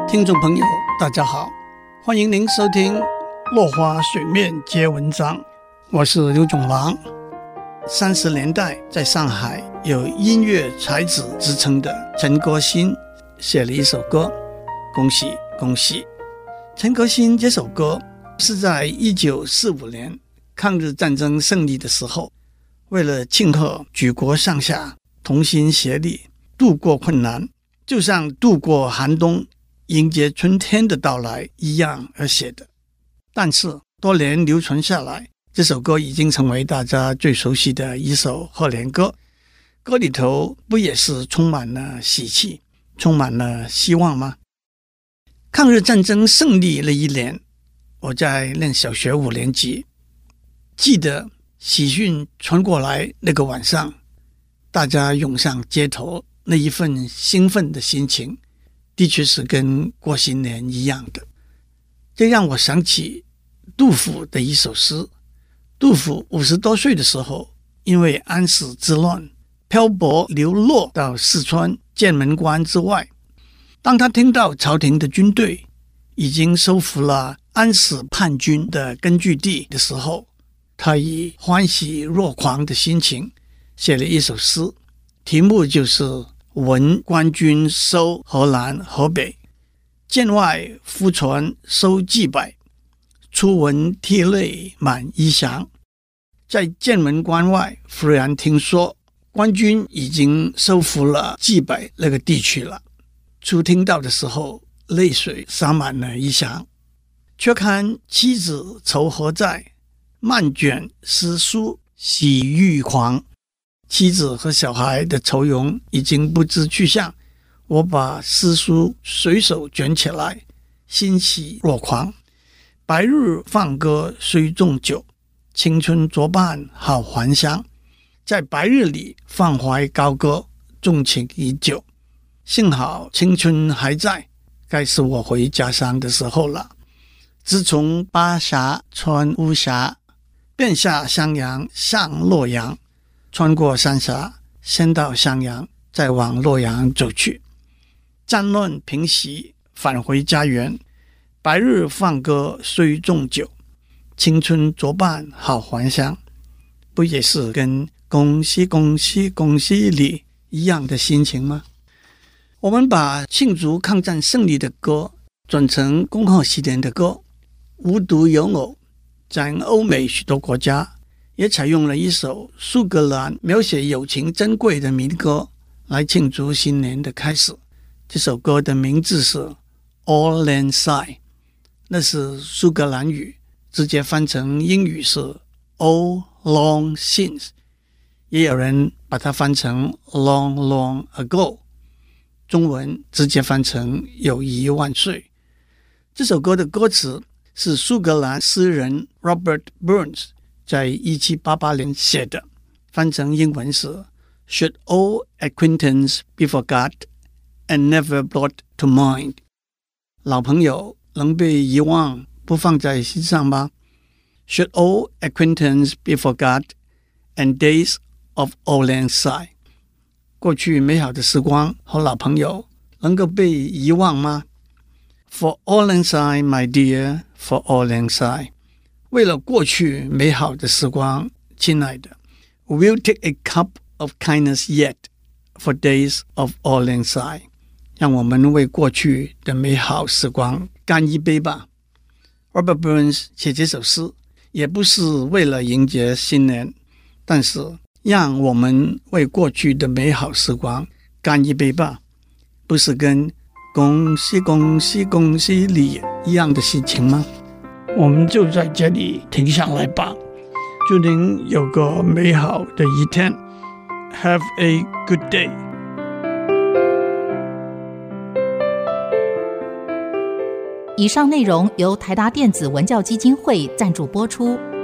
聽眾朋友大家好，歡迎您收聽落花水面皆文章，我是劉總郎。30年代在上海有音樂才子之稱的陳國興寫了一首歌，恭喜恭喜。陳國興這首歌是在1945年抗日戰爭勝利的時候，為了慶賀舉國上下同心協力度過困難，就像度過寒冬迎接春天的到來一樣而寫的。但是多年流傳下來，這首歌已經成為大家最熟悉的一首賀年歌。歌裡頭不也是充滿了喜氣，充滿了希望嗎？抗日戰爭勝利那一年，我在念小學5年級，記得喜訊傳過來那個晚上，大家湧上街頭，那一份興奮的心情的確是跟過新年一樣的。這讓我想起杜甫的一首詩。杜甫50多歲的時候，因為安史之亂漂泊流落到四川劍門關之外，當他聽到朝廷的軍隊已經收復了安史叛軍的根據地的時候，他以歡喜若狂的心情寫了一首詩，題目就是聞官軍收河南河北，劍外忽傳收薊百，初聞涕淚滿衣裳。在劍門關外忽然聽說官軍已經收復了薊百那個地區了，初聽到的時候淚水灑滿了衣裳，卻看妻子愁何在，漫卷詩書喜欲狂。妻子和小孩的愁容已經不知去向，我把詩書隨手捲起來，欣喜若狂。白日放歌雖縱酒，青春作伴好還鄉。在白日裡放懷高歌，縱情已久。幸好青春還在，該是我回家鄉的時候了。自從巴峽穿巫峽，便下襄陽向洛陽，穿過三峽，先到襄陽，再往洛陽走去。戰亂平息，返回家園。白日放歌雖縱酒，青春作伴好還鄉。不也是跟恭喜恭喜恭喜你一樣的心情嗎？我們把慶祝抗戰勝利的歌轉成恭賀新年的歌，無獨有偶，在歐美許多國家也採用了一首蘇格蘭描寫友情珍貴的民歌來慶祝新年的開始。這首歌的名字是 Auld Lang Syne， 那是蘇格蘭語，直接翻成英語是 Auld Long Syne， 也有人把它翻成 Long Long Ago， 中文直接翻成友誼萬歲。這首歌的歌詞是蘇格蘭詩人 Robert Burns在1788年寫的，翻成英文是 Should old acquaintance be forgot and never brought to mind？ 老朋友能被遺忘不放在心上嗎？ Should old acquaintance be forgot and days of Auld Lang Syne？ 過去美好的時光和老朋友能夠被遺忘嗎？ For Auld Lang Syne, my dear, for Auld Lang Syne，為了過去美好的時光，親愛的 We'll take a cup of kindness yet for days of Auld Lang Syne， 讓我們為過去的美好時光乾一杯吧。 Robert Burns 寫這首詩也不是為了迎接新年，但是讓我們為過去的美好時光乾一杯吧，不是跟恭喜恭喜恭喜你一樣的心情嗎？我們就在這裡停下來吧，祝您有個美好的一天。 Have a good day。 以上內容由台達電子文教基金會贊助播出。